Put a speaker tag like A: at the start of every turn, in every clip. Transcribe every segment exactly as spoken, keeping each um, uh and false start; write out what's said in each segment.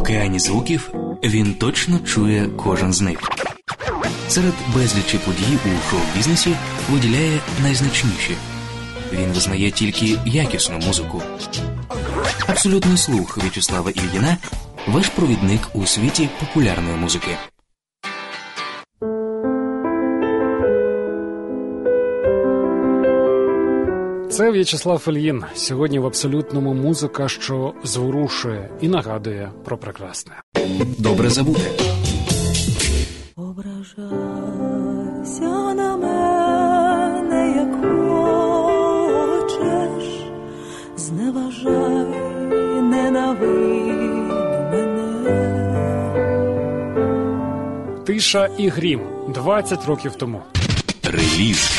A: океані звуків він точно чує кожен з них. Серед безлічі подій у шоу-бізнесі виділяє найзначніші. Він визнає тільки якісну музику. Абсолютний слух В'ячеслава Ільїна – ваш провідник у світі популярної музики.
B: Це В'ячеслав Ільїн. Сьогодні в абсолютному музика, що зворушує і нагадує про прекрасне.
A: Добре забути.
C: Ображайся на мене, як хочеш, зневажай, ненавидь мене.
B: Тиша і грім. двадцять років тому.
A: Реліз.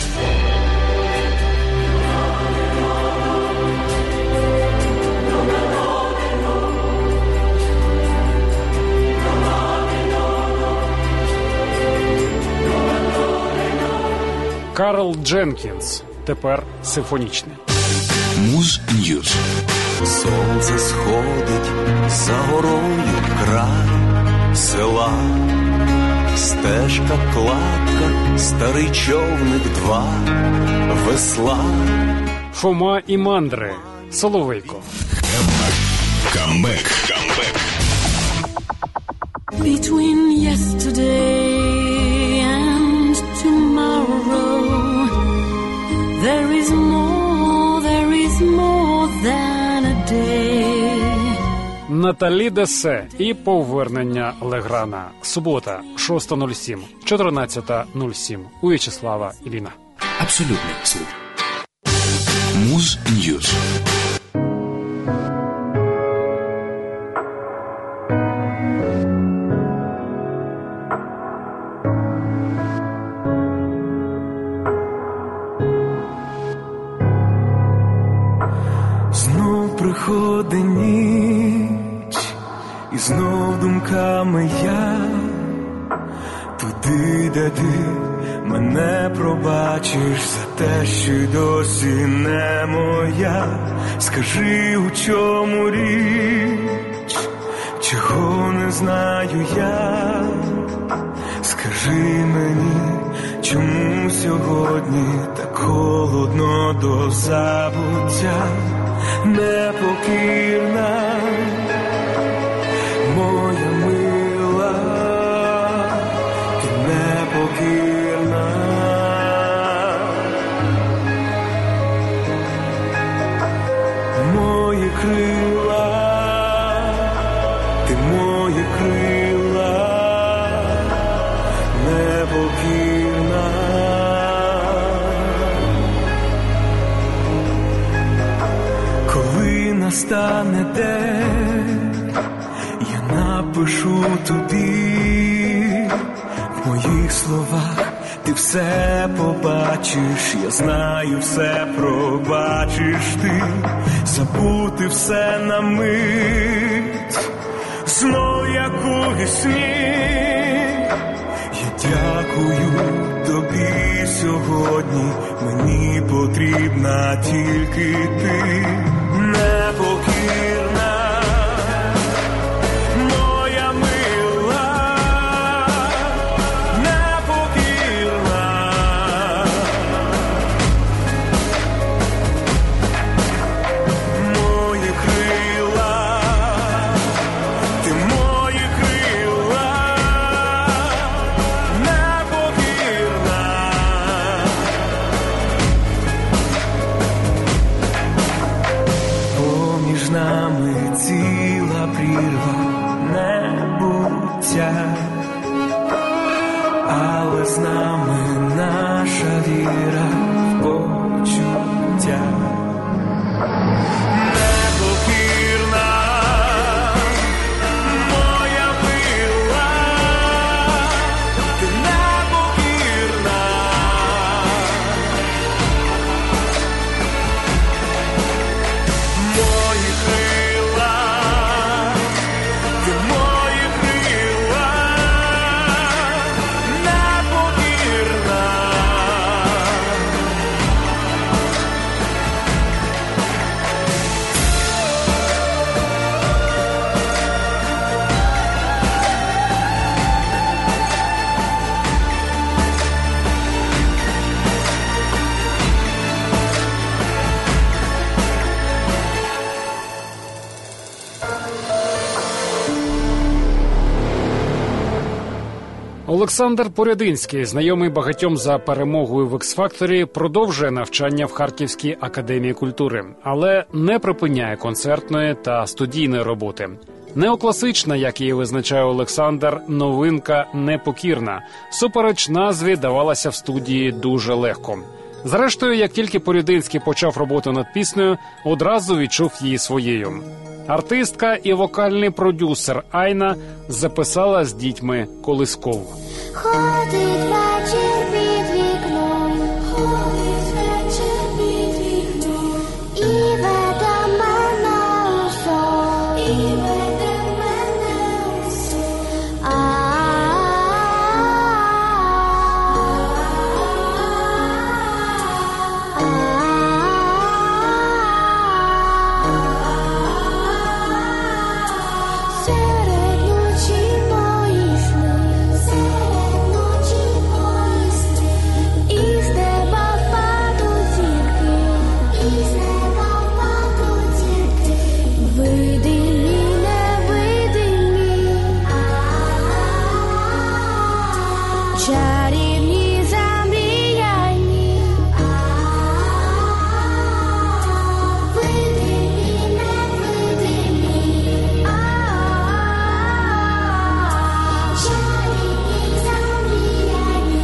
B: Карл Дженкінс. Тепер симфонічний.
A: Муз Ньюз.
D: Сонце сходить за горою край села. Стежка, кладка, старий човник, два весла.
B: Фома і мандри. Соловейко.
A: Камбек. Камбек.
C: Between yesterday and tomorrow, there is more, there is more than a day.
B: Наталі Десе і повернення Леграна. Субота, шоста нуль сім, чотирнадцята нуль сім. У В'ячеслава Ільїна.
A: Абсолютний слух. Муз Ньюз.
D: Приходить ніч, і знов думками я туди, де ти мене пробачиш за те, що й досі не моя. Скажи, у чому річ, чого не знаю я. Скажи мені, чому сьогодні так холодно до забуття. Непокірна моя мила, ти непокірна. Мої крила, ти мої крила, непокірна. Настане день, я напишу тобі, в моїх словах ти все побачиш, я знаю, все пробачиш ти, забути все на мить, знов як у вісні. Я дякую тобі сьогодні, мені потрібна тільки ти. Непокірна моя мила, непокірна. Мої крила, ти мої крила, непокірна. Поміж нами ціла прірва небуття, але з нами наша віра в почуття. Непокірна моя мила, ти непокірна. Мої крила, ти мої крила, непокірна.
B: Олександр Порядинський, знайомий багатьом за перемогою в Ікс-Факторі, продовжує навчання в Харківській академії культури, але не припиняє концертної та студійної роботи. Неокласична, як її визначає Олександр, новинка «Непокірна». Супереч назві давалася в студії дуже легко. Зрештою, як тільки Порядинський почав роботу над піснею, одразу відчув її своєю. Артистка і вокальний продюсер Айна записала з дітьми колискову.
E: Ходить вечір під вікном, ходить вечір під вікном, і веде мене у сон, і веде мене у сон. Серед ночі мої сни, серед ночі мої сни, із неба впадуть зірки, із неба впадуть зірки, видимі, невидимі, чарівні, замріяні, видимі, невидимі, чарівні, замріяні,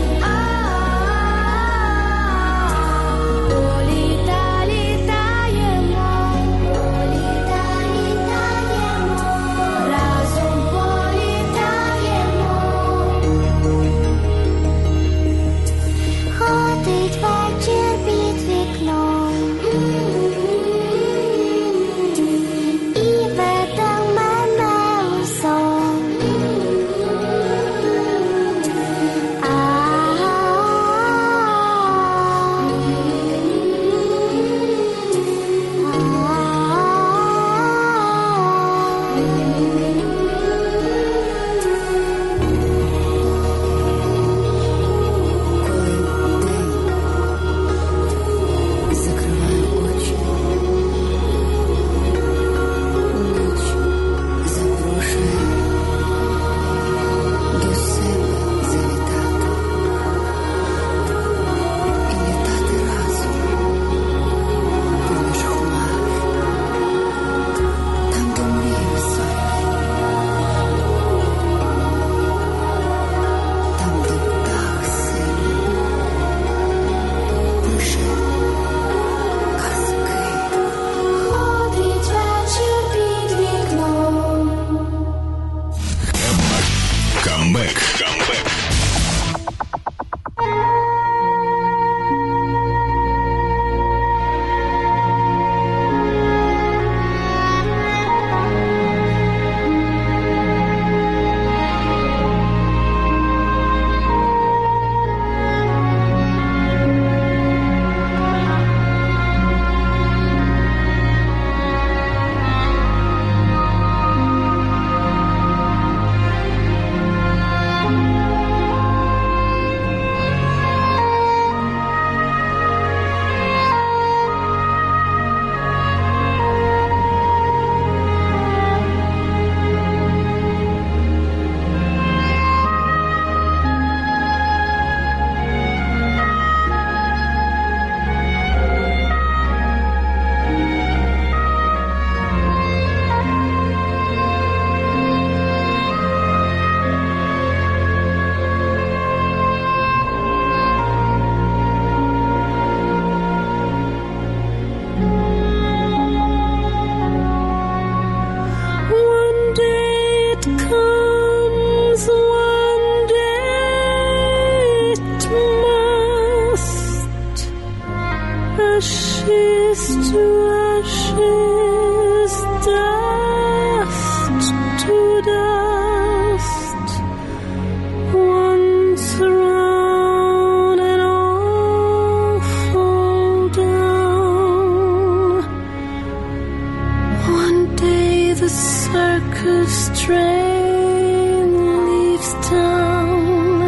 E: політа літаємо, політа літаємо, разом політаємо. Ходить вечір під вікном, і веде мене у сон. Закриваю очі, ніч запрошує до себе завітати і літати разом поміж хмар, там, де мрії високі, там, де птах сильний пише казки. Ходить вечір під вікном.
F: Камбек. Камбек.
C: One day it comes, one day it must. Ashes to ashes, dust to dust. Once around and all fall down. One day the circus train leaves town,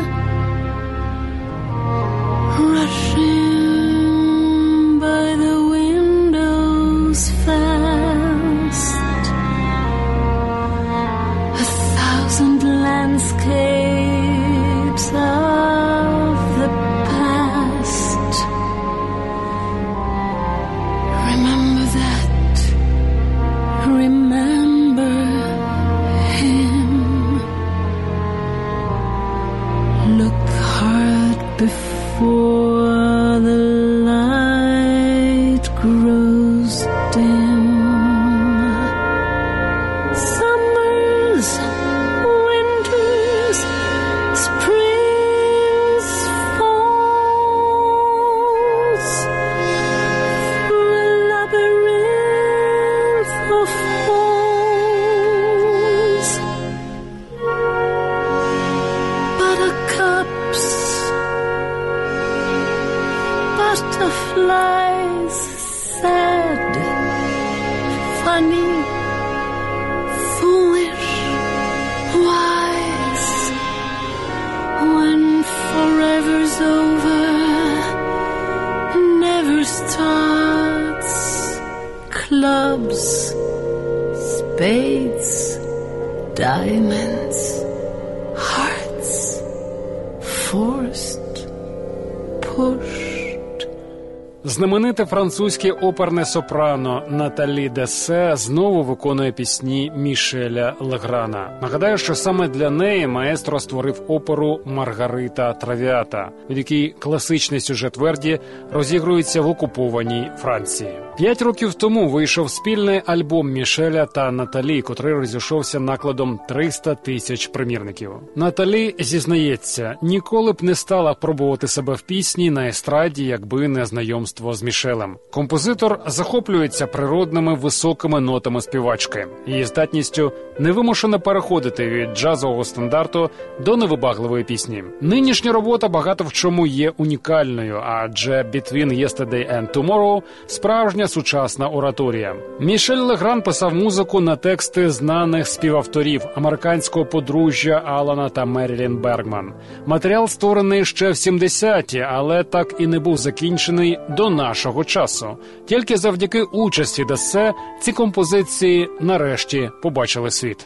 C: rushing by the windows fast. Spades, diamonds, hearts, forced, pushed.
B: Знамените французьке оперне сопрано Наталі Дессе знову виконує пісні Мішеля Леграна. Нагадаю, що саме для неї маестро створив оперу «Маргарита Травіата», від якій класичний сюжет Верді розігрується в окупованій Франції. П'ять років тому вийшов спільний альбом Мішеля та Наталі, котрий розійшовся накладом триста тисяч примірників. Наталі зізнається, ніколи б не стала пробувати себе в пісні на естраді, якби не знайомство з Мішелем. Композитор захоплюється природними високими нотами співачки, її здатністю невимушено переходити від джазового стандарту до невибагливої пісні. Нинішня робота багато в чому є унікальною, адже «Between Yesterday and Tomorrow» – справжня сучасна ораторія. Мішель Легран писав музику на тексти знаних співавторів американського подружжя Алана та Мерілін Бергман. Матеріал створений ще в сімдесяті, але так і не був закінчений до нашого часу. Тільки завдяки участі Дессе ці композиції нарешті побачили світ.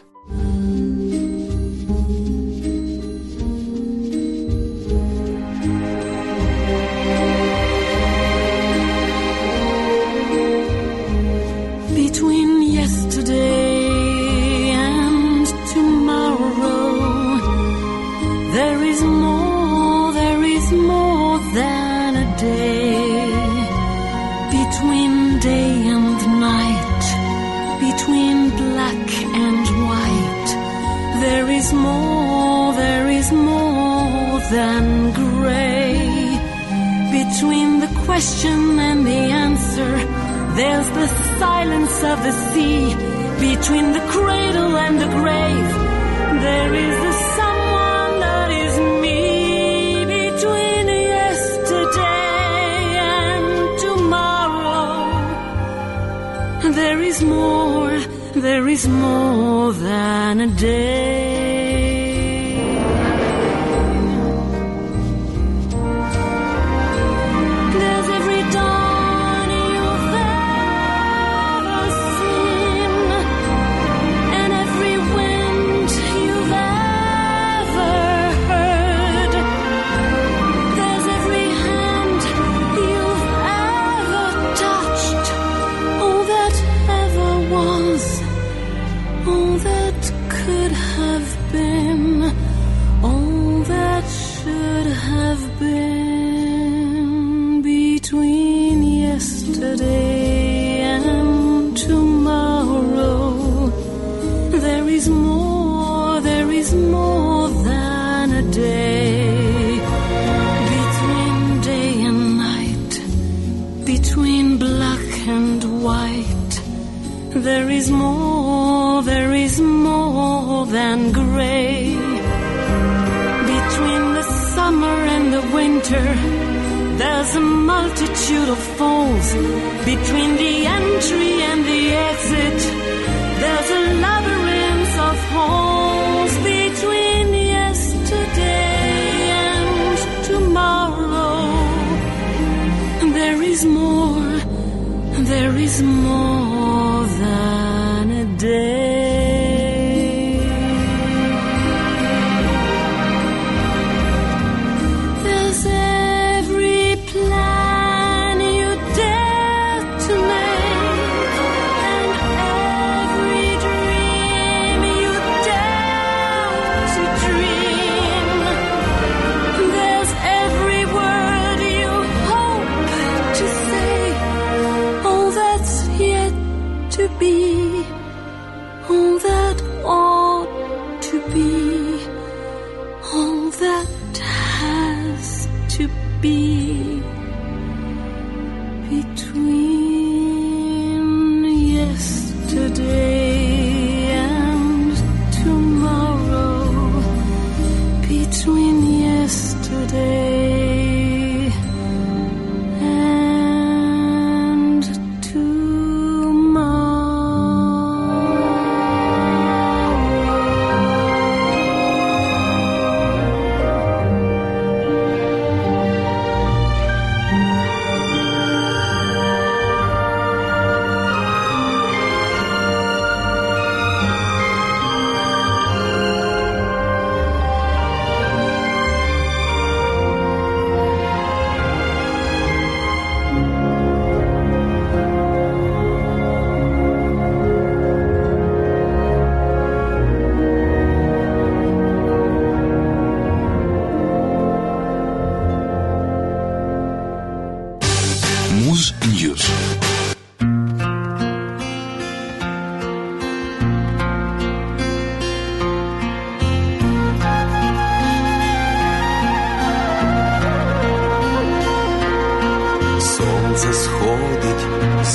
C: Between yesterday and tomorrow, there is more, there is more than a day. Between day and night, between black and white, there is more, there is more than gray. Between the question and the answer, there's the silence of the sea. Between the cradle and the grave, there is the someone that is me. Between yesterday and tomorrow, there is more, there is more than a day. There's every dawn you've ever seen, and every wind you've ever heard. There's every hand you've ever touched, all that ever was, all that could have been, all that should have been. Between yesterday and tomorrow, there is more, there is more than a day. Between day and night, between black and white, there is more, there is more than gray. Between the summer and the winter, there's a multitude of falls. Between the entry and the exit, there's a labyrinth of holes. Between yesterday and tomorrow, there is more, there is more than a day. There's every plan you dare to make, and every dream you dare to dream. There's every word you hope to say, all that's yet to be, all that ought to be, all that has to be. Between yesterday and tomorrow, between yesterday and tomorrow.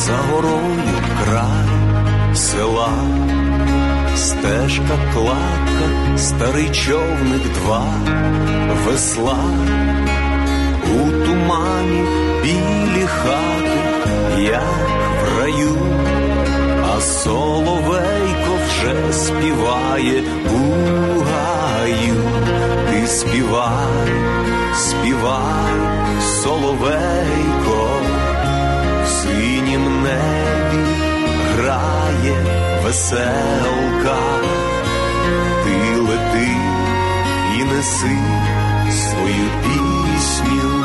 G: за горою край села, стежка, кладка, старий човник, два весла, у тумані білі хати, як в раю, а соловейко вже співає у гаю. Ти співай, співай, соловейко, в синім небі грає веселка. Ти лети і неси свою пісню,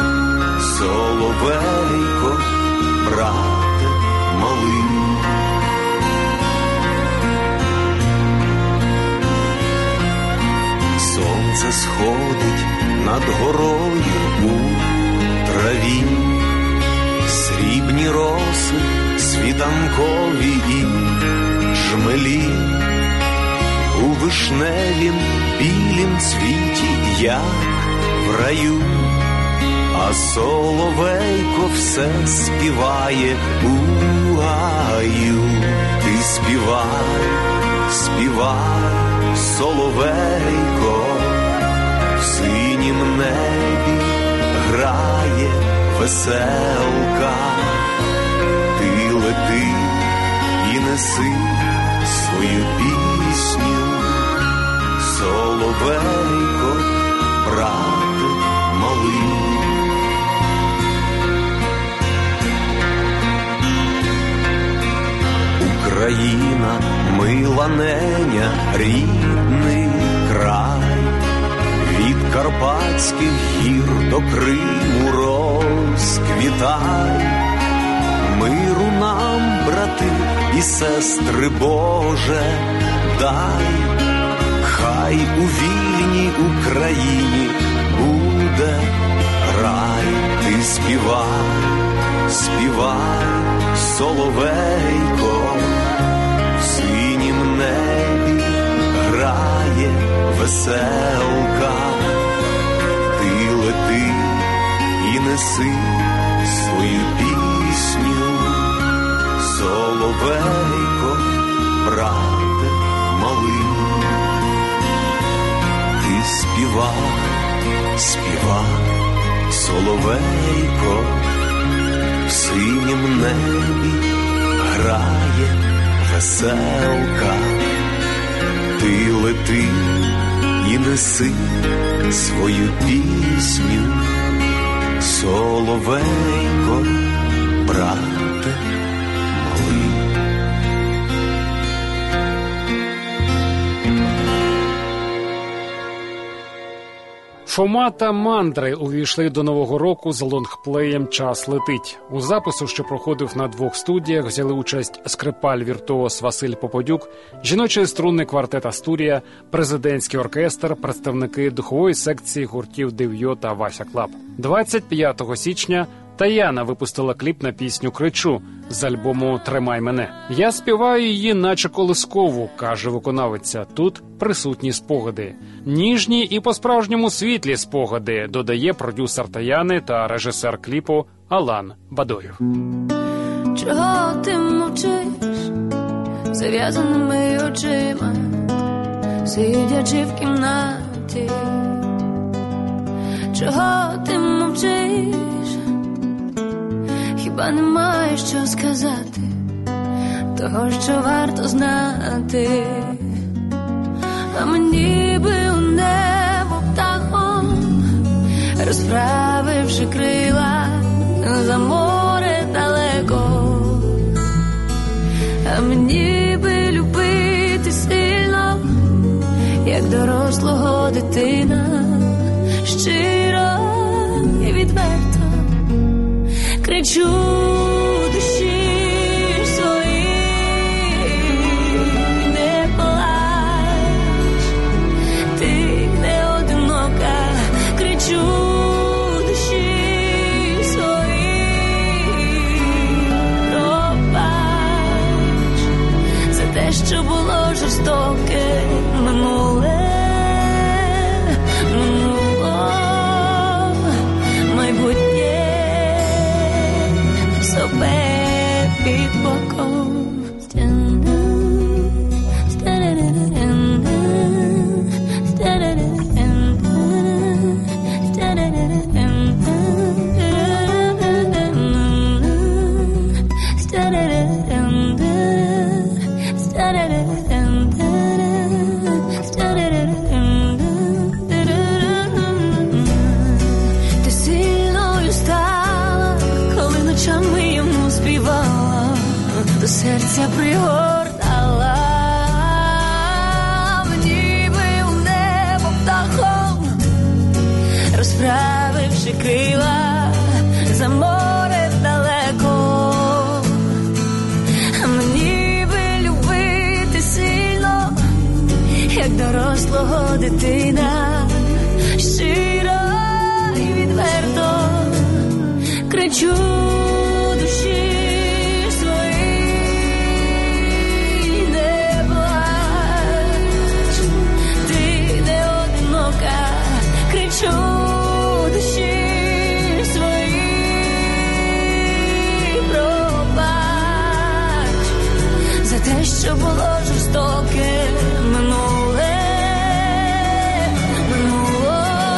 G: соловейко, брате малий. Сонце сходить над горою у траві, срібні роси, світанкові і жмелі, у вишневім білім цвіті, як в раю, а соловейко все співає у гаю. Ти співай, співай, соловейко, в синім небі грає веселка. Ти лети і неси свою пісню, соловейко, брате малий. Україна, мила неня, рідний край, від Карпатських гір до Криму розквітай. Миру нам, брати і сестри, Боже, дай, хай у вільній Україні буде рай. Ти співай, співай, соловейко, в синім небі грає веселка. Ти лети і неси свою пісню, соловейко, брате малий. Ти співай, співай, соловейко, в синім небі грає веселка. Ти лети і неси свою пісню, соловейко, брате малий.
B: Фома та Мандри увійшли до Нового року з лонгплеєм «Час летить». У запису, що проходив на двох студіях, взяли участь скрипаль-віртуоз Василь Попадюк, жіночий струнний квартет «Астурія», президентський оркестр, представники духової секції гуртів «Дев'йо» та «Вася Клаб». двадцять п'ятого січня Таяна випустила кліп на пісню «Кричу» з альбому «Тримай мене». «Я співаю її наче колискову», каже виконавиця. Тут присутні спогади. Ніжні і по-справжньому світлі спогади, додає продюсер Таяни та режисер кліпу Алан Бадоєв.
H: Чого ти мовчиш зав'язаними очима, сидячи в кімнаті? Чого ти мовчиш? Хіба немає що сказати, того, що варто знати? А мені би у небо птахом, розправивши крила за море далеко. А мені би любити сильно, як дорослого дитина, щиро і відверто. Кричу душі своїй, не плач, ти не одинока. Кричу душі своїй, пробач за те, що було жорстоке минуле, минуло майбутнє. So bad. розправивши крила за море далеко. Мені би любити сильно, як дорослого дитина, щиро і відверто кричу душі своїй, не плач, ти не одинока, кричу душі своїй, пробач за те, що було жорстоке минуле, минуло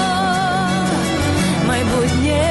H: майбутнє.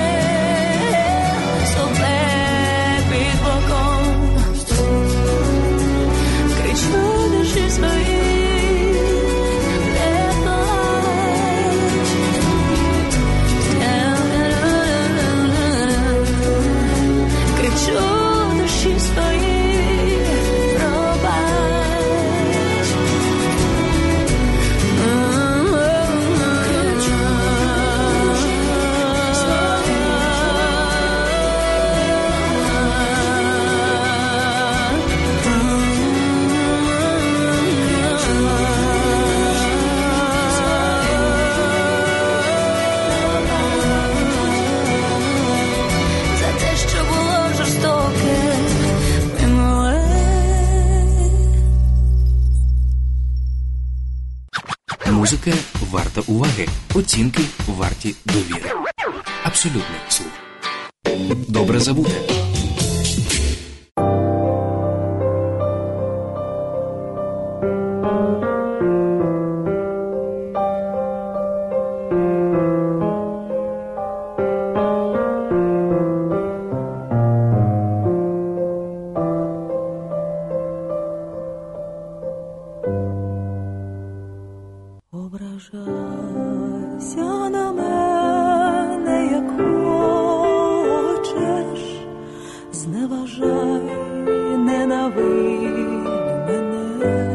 A: Музика варта уваги, оцінки варті довіри. Абсолютний слух. Добре забуте.
I: Ображайся на мене, як хочеш, зневажай, ненавидь мене.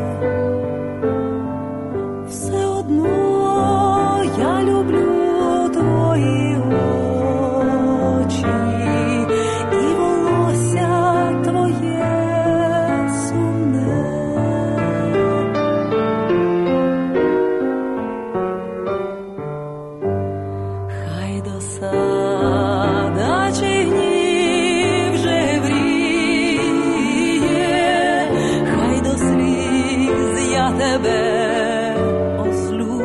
I: Все одно я люблю твої очі і волосся твоє сумне. Досада чи гнів вже вріє, хай до сліз я тебе ослю.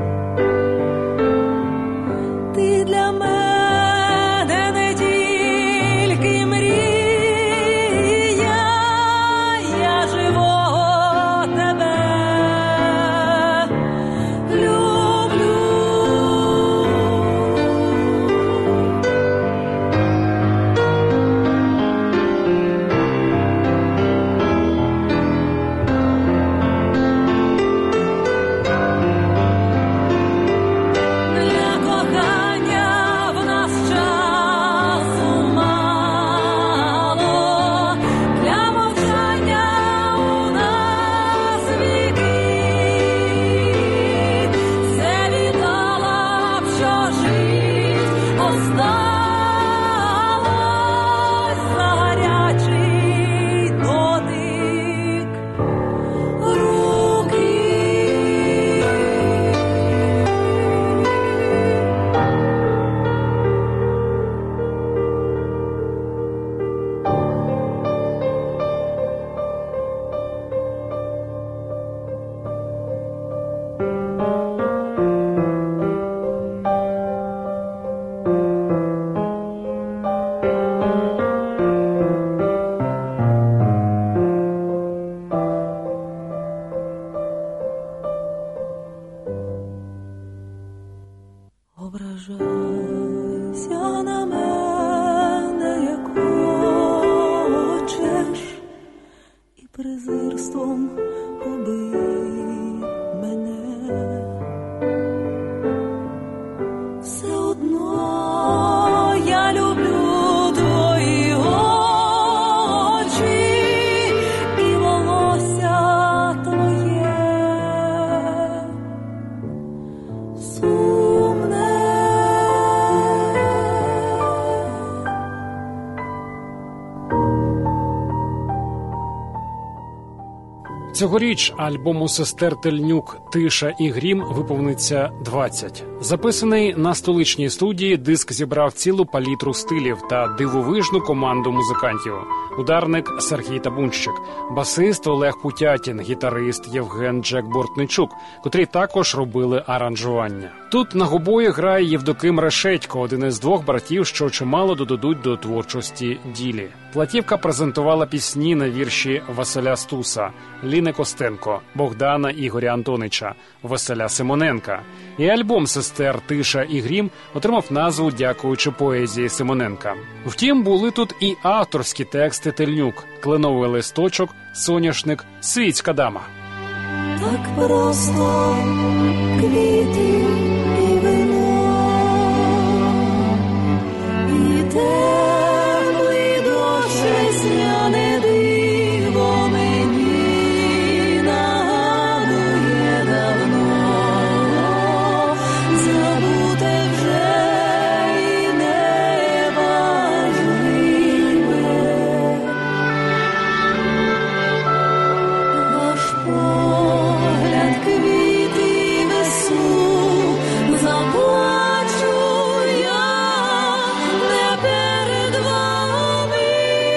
I: Ти для мене не тільки мрія, я живого тебе люблю.
B: Цьогоріч альбому сестер Тельнюк «Тиша і грім» виповниться двадцять. Записаний на столичній студії, диск зібрав цілу палітру стилів та дивовижну команду музикантів. Ударник Сергій Табунщик, басист Олег Путятін, гітарист Євген Джек Бортничук, котрі також робили аранжування. Тут на гобої грає Євдоким Решетько, один із двох братів, що чимало додадуть до творчості Ділі. Платівка презентувала пісні на вірші Василя Стуса, Ліни Костенко, Богдана Ігоря Антонича, Василя Симоненка. І альбом сестер «Тиша і грім» отримав назву дякуючи поезії Симоненка. Втім, були тут і авторські тексти Тельнюк: «Кленовий листочок», «Соняшник», «Світська дама».
I: Так просто квіти і вино, і теплий дощ весняне диво мені нагадує давно, забуте вже і неважливе. Ваш погляд квіти несу, заплачу я не перед вами.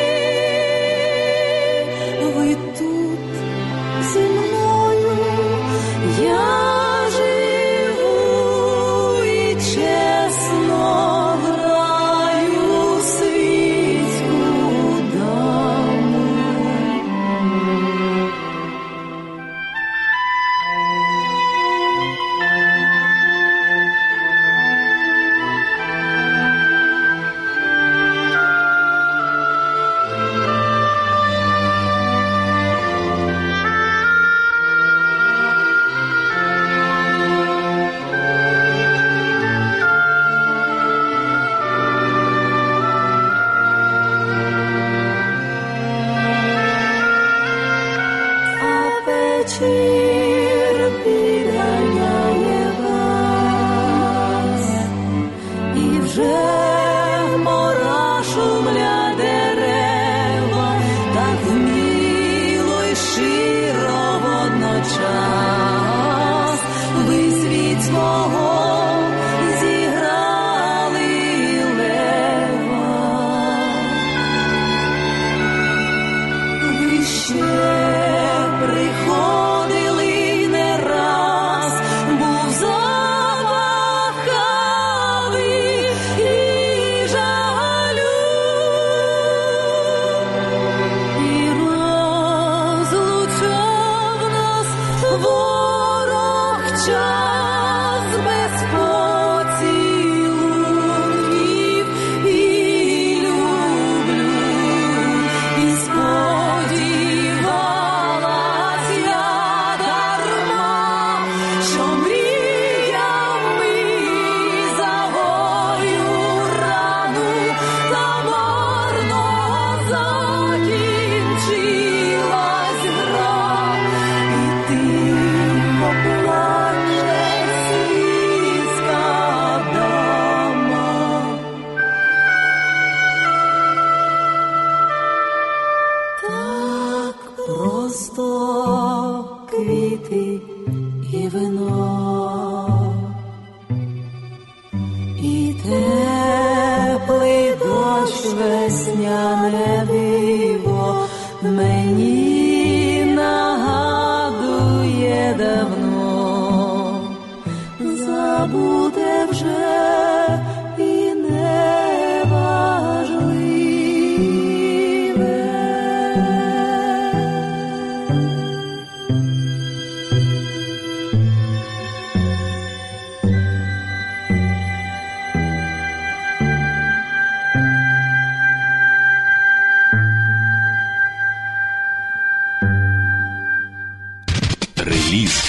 I: Ви тут зі мною, я живу і чесно граю світську даму. А вечір підганяє вас, і вже мора шумля дерева, так вміло й широ водночас. Ви світ свого зіграли лева. Ви ще приходили не раз, був замахали і жалю, і розлучав нас ворог час без поцілунків і люблю, і сподівалась я дарма, що мріями загою рану та марно закінчилась гра, і тихо плаче світська дама. Так просто квіти і вино, і теплий дощ весняне диво мені нагадує давно, забуде вже і неважливе.
F: Реліз.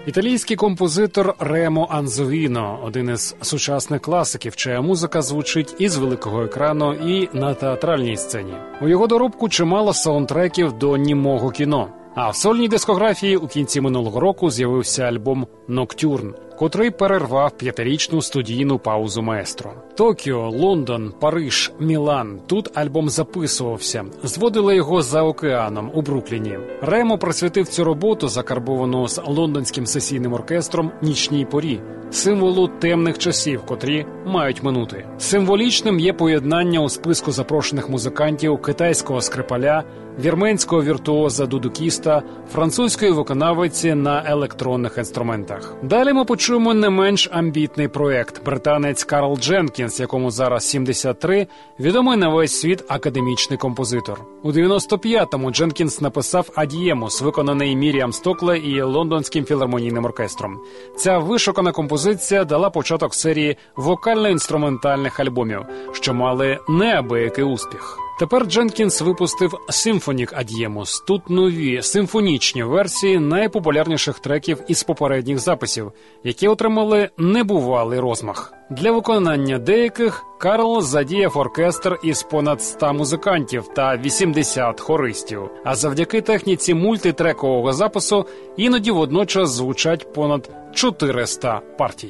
B: Італійський композитор Ремо Анзовіно – один із сучасних класиків, чия музика звучить і з великого екрану, і на театральній сцені. У його доробку чимало саундтреків до німого кіно. А в сольній дискографії у кінці минулого року з'явився альбом «Ноктюрн», котрий перервав п'ятирічну студійну паузу маестро. Токіо, Лондон, Париж, Мілан – тут альбом записувався. Зводили його за океаном у Брукліні. Ремо присвятив цю роботу, закарбовану з лондонським сесійним оркестром, нічній порі, символу темних часів, котрі мають минути. Символічним є поєднання у списку запрошених музикантів китайського скрипаля, вірменського віртуоза-дудукіста, французької виконавиці на електронних інструментах. Далі ми почуємо не менш амбітний проект. Британець Карл Дженкінс, якому зараз сімдесят три, відомий на весь світ академічний композитор. У дев'яносто п'ятому Дженкінс написав «Ад'ємус», виконаний Міріам Стокле і Лондонським філармонійним оркестром. Ця вишукана композиція дала початок серії вокально-інструментальних альбомів, що мали неабиякий успіх. Тепер Дженкінс випустив «Симфонік Ад'ємус». Тут нові симфонічні версії найпопулярніших треків із попередніх записів, які отримали небувалий розмах. Для виконання деяких Карл задіяв оркестр із понад ста музикантів та вісімдесят хористів. А завдяки техніці мультитрекового запису іноді водночас звучать понад чотириста партій.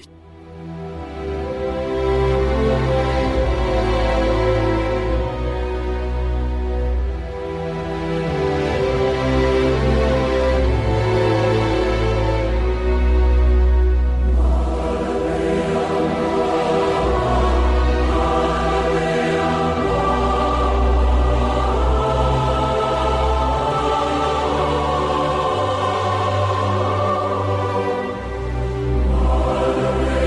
D: Ave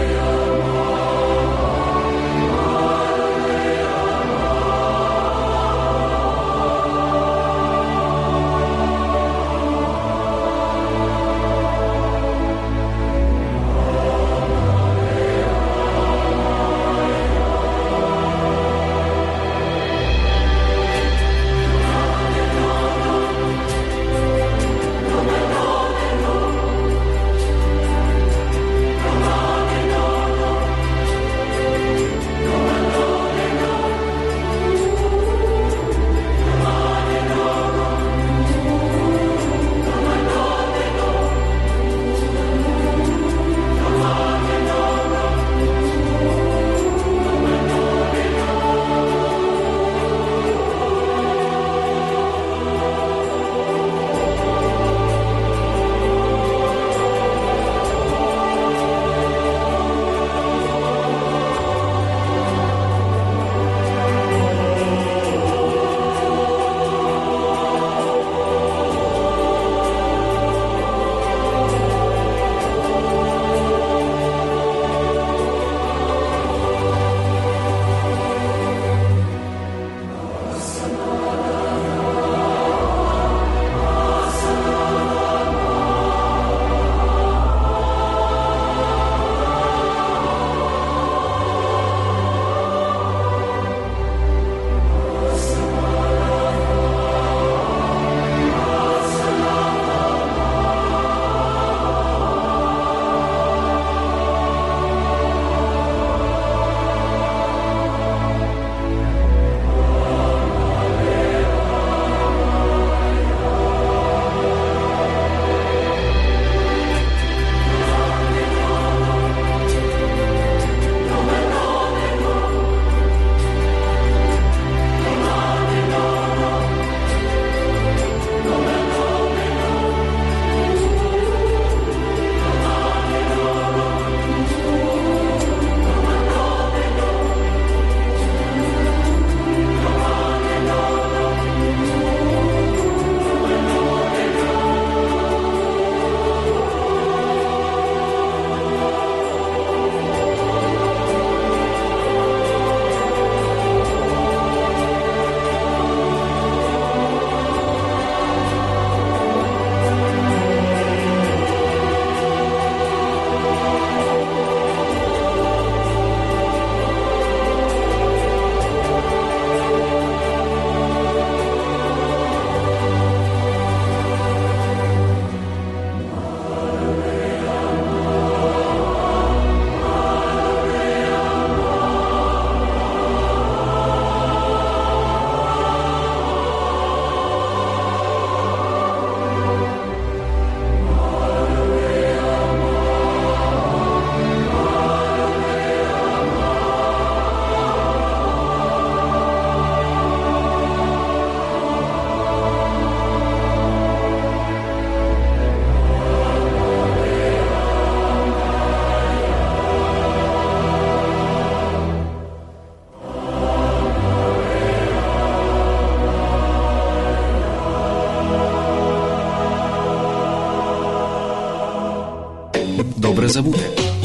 A: Добре забуте.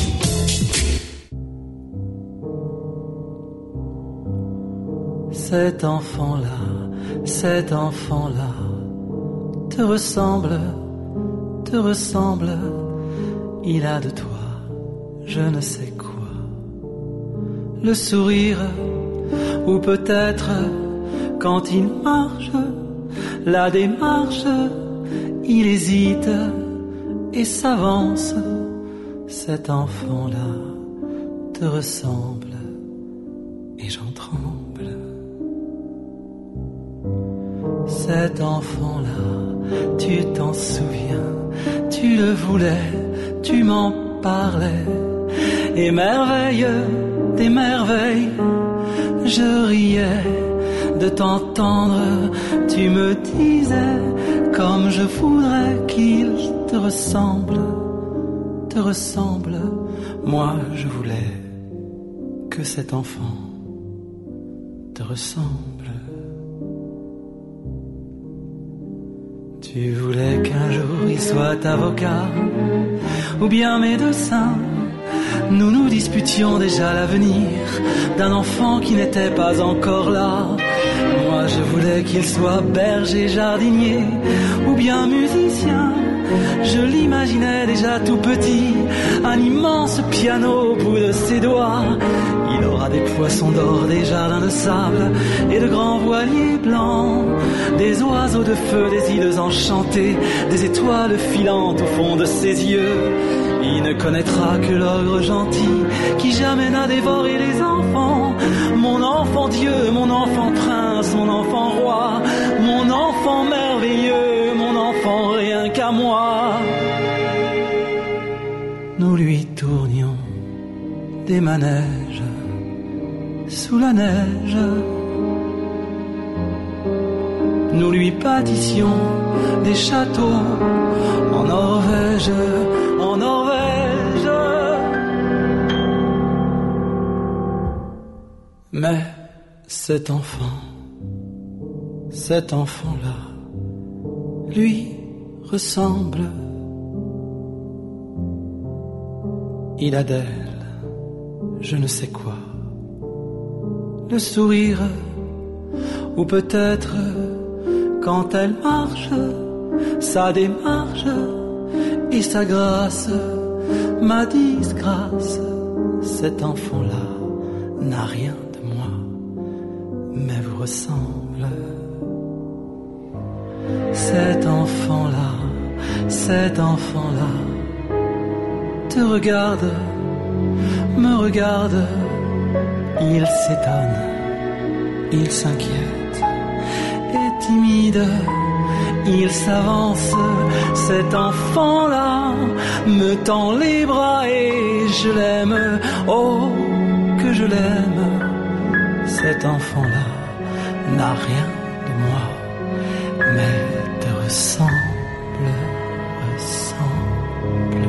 J: Cet enfant-là, cet enfant-là te ressemble, te ressemble. Il a de toi, je ne sais quoi. Le sourire, ou peut-être quand il marche, la démarche, il hésite et s'avance. Cet enfant-là te ressemble et j'en tremble. Cet enfant-là, tu t'en souviens, tu le voulais, tu m'en parlais. Et merveille des merveilles, je riais de t'entendre. Tu me disais comme je voudrais qu'il te ressemble, te ressemble. Moi je voulais que cet enfant te ressemble. Tu voulais qu'un jour il soit avocat ou bien médecin. Nous nous disputions déjà l'avenir d'un enfant qui n'était pas encore là. Moi je voulais qu'il soit berger, jardinier ou bien musicien. Je l'imaginais déjà tout petit, un immense piano au bout de ses doigts. Il aura des poissons d'or, des jardins de sable et de grands voiliers blancs, des oiseaux de feu, des îles enchantées, des étoiles filantes au fond de ses yeux. Il ne connaîtra que l'ogre gentil qui jamais n'a dévoré les enfants. Mon enfant Dieu, mon enfant prince, mon enfant roi, mon enfant merveilleux, mon enfant rien qu'à moi. Nous lui tournions des manèges sous la neige. Nous lui bâtissions des châteaux en Norvège, en Norvège. Mais cet enfant, cet enfant-là, lui ressemble. Il a d'elle, je ne sais quoi, le sourire, ou peut-être quand elle marche, sa démarche et sa grâce, ma disgrâce. Cet enfant-là n'a rien de moi, mais vous ressemble. Cet enfant-là, cet enfant-là te regarde, me regarde. Il s'étonne, il s'inquiète, et timide, il s'avance. Cet enfant-là me tend les bras et je l'aime, oh que je l'aime. Cet enfant-là n'a rien de moi, mais te ressemble, ressemble,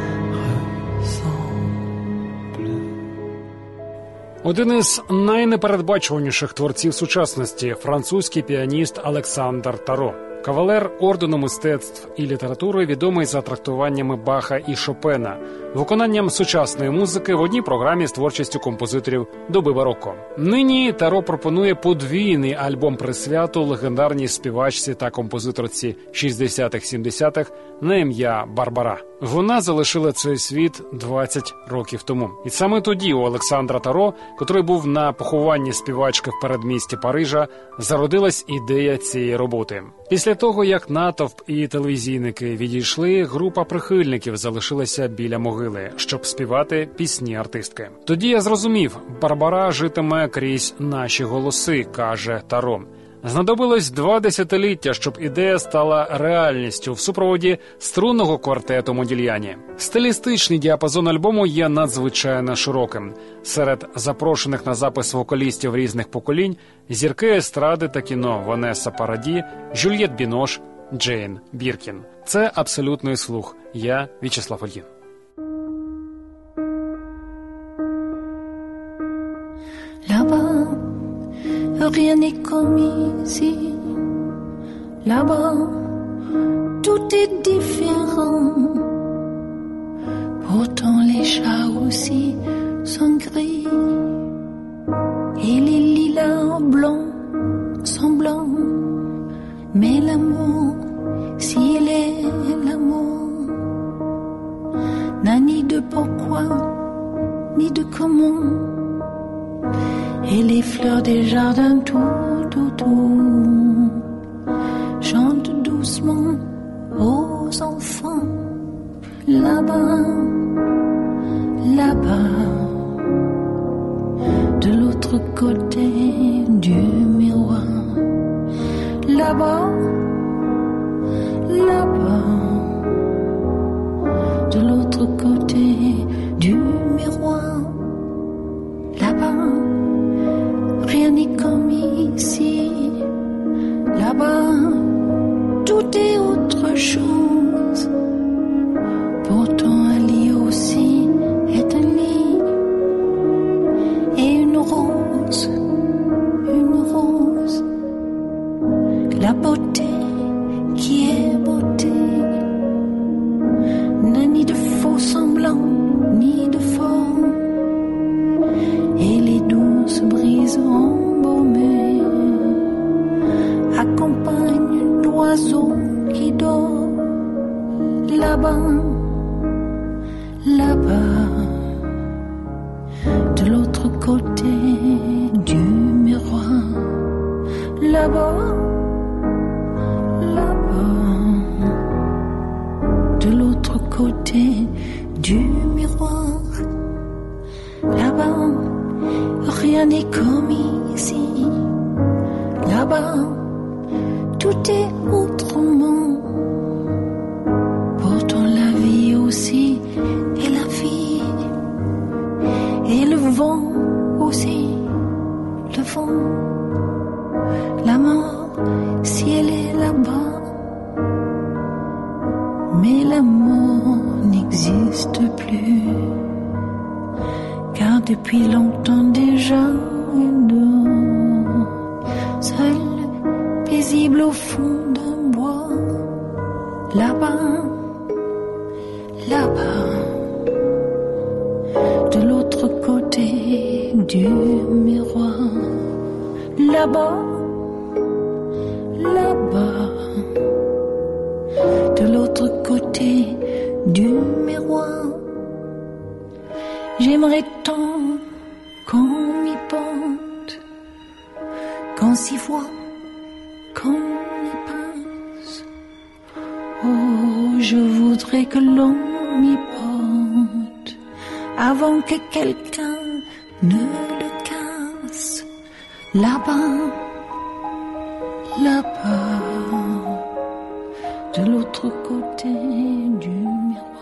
J: ressemble.
B: Один із найнепередбачуваніших творців сучасності – французький піаніст Олександр Таро. Кавалер ордену мистецтв і літератури, відомий за трактуваннями Баха і Шопена, виконанням сучасної музики в одній програмі з творчістю композиторів доби бароко. Нині Таро пропонує подвійний альбом-присвяту легендарній співачці та композиторці шістдесятих-сімдесятих на ім'я Барбара. Вона залишила цей світ двадцять років тому. І саме тоді у Олександра Таро, котрий був на похованні співачки в передмісті Парижа, зародилась ідея цієї роботи. Після того, як натовп і телевізійники відійшли, група прихильників залишилася біля могили, щоб співати пісні артистки. Тоді я зрозумів, Барбара житиме крізь наші голоси, каже Таро. Знадобилось два десятиліття, щоб ідея стала реальністю в супроводі струнного квартету Модільяні. Стилістичний діапазон альбому є надзвичайно широким. Серед запрошених на запис вокалістів різних поколінь – зірки естради та кіно Ванесса Параді, Жюльєт Бінош, Джейн Біркін. Це абсолютний слух. Я В'ячеслав Ольгін.
H: Là-bas, rien n'est comme ici. Là-bas, tout est différent.
K: Autant les chats aussi sont gris et les lilas blancs sont blancs. Mais l'amour, s'il est l'amour, n'a ni de pourquoi, ni de comment. Et les fleurs des jardins tout autour chantent doucement aux enfants. Là-bas, là-bas, de l'autre côté du miroir. Là-bas, là-bas, de l'autre côté du miroir. Là-bas, rien n'est comme ici. Là-bas, tout est autre chose. Pourtant un lit aussi est un lit. Et une rose, une rose, la beauté qui est beauté, n'a ni de faux semblants, ni de faux. Et les douces brises embaumées accompagnent l'oiseau qui dort. Là-bas, là-bas, de l'autre côté du miroir. Là-bas, là-bas, de l'autre côté du miroir. Là-bas, rien n'est comme ici. Là-bas, tout est autrement. Pourtant la vie aussi est la vie. Et le vent aussi, le vent. La mort, si elle est là-bas. Mais la mort n'existe plus. Car depuis longtemps déjà, elle dort, seule, paisible au fond d'un bois. Là-bas, là-bas, de l'autre côté du miroir. Là-bas, là-bas, de l'autre côté du miroir. J'aimerais tant qu'on m'y porte, qu'on s'y voit, qu'on y passe. Oh, je voudrais que l'on m'y porte avant que quelqu'un ne le casse. Là-bas, là-bas, de l'autre côté du miroir.